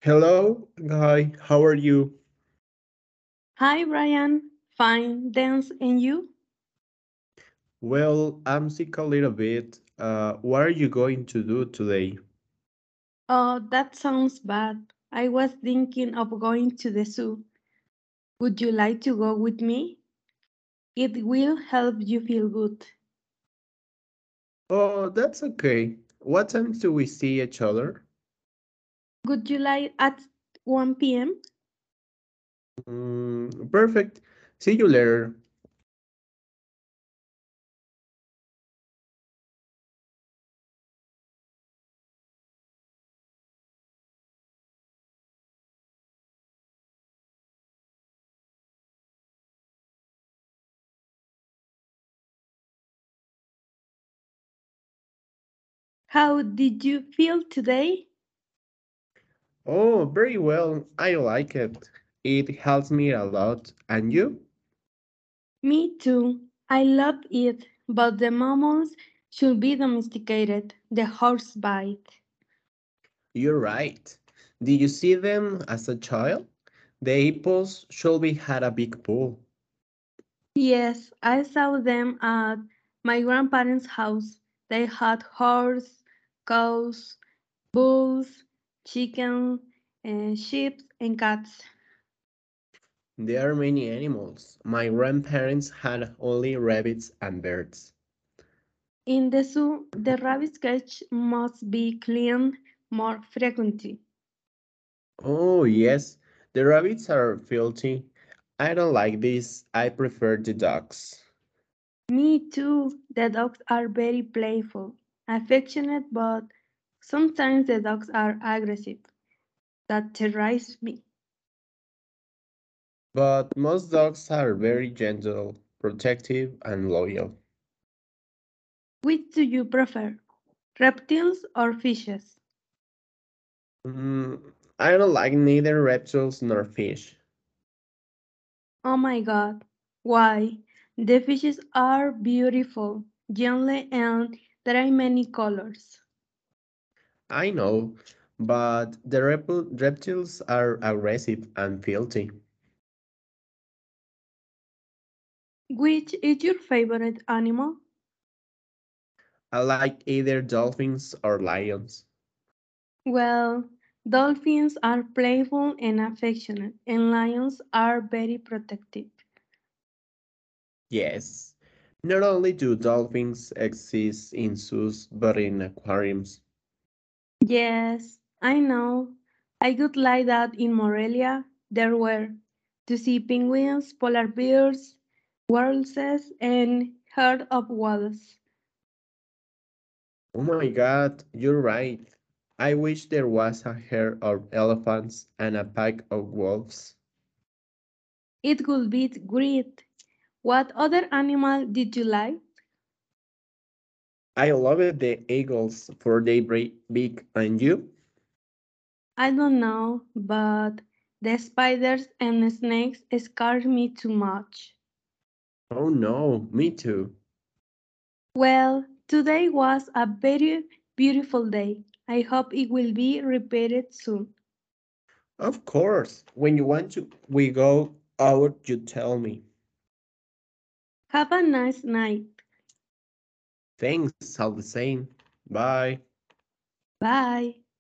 Hello, guy. How are you? Hi, Brian. Fine, thanks. And you? Well, I'm sick a little bit. What are you going to do today? Oh, that sounds bad. I was thinking of going to the zoo. Would you like to go with me? It will help you feel good. Oh, that's okay. What time do we see each other? Would you like at 1 p.m.? Perfect. See you later. How did you feel today? Oh, very well. I like it. It helps me a lot. And you? Me too. I loved it, but the mammals should be domesticated. The horse bite. You're right. Did you see them as a child? The hippos should be had a big pool. Yes, I saw them at my grandparents' house. They had horse, cows, bulls, chicken, sheep, and cats. There are many animals. My grandparents had only rabbits and birds. In the zoo, the rabbit cage must be cleaned more frequently. Oh, yes, the rabbits are filthy. I don't like this. I prefer the dogs. Me too. The dogs are very playful, affectionate, but sometimes the dogs are aggressive. That terrorizes me. But most dogs are very gentle, protective, and loyal. Which do you prefer, reptiles or fishes? I don't like neither reptiles nor fish. Oh my god, why? The fishes are beautiful, gentle, and there are many colors. I know, but the reptiles are aggressive and filthy. Which is your favorite animal? I like either dolphins or lions. Well, dolphins are playful and affectionate, and lions are very protective. Yes. Not only do dolphins exist in zoos, but in aquariums. Yes, I know. I would like that in Morelia there were to see penguins, polar bears, walruses, and herd of whales. Oh my god, you're right. I wish there was a herd of elephants and a pack of wolves. It would be great. What other animal did you like? I loved the eagles for their big and you? I don't know, but the spiders and snakes scared me too much. Oh no, me too. Well, today was a very beautiful day. I hope it will be repeated soon. Of course, when you want to we go out, you tell me. Have a nice night. Thanks, all the same. Bye. Bye.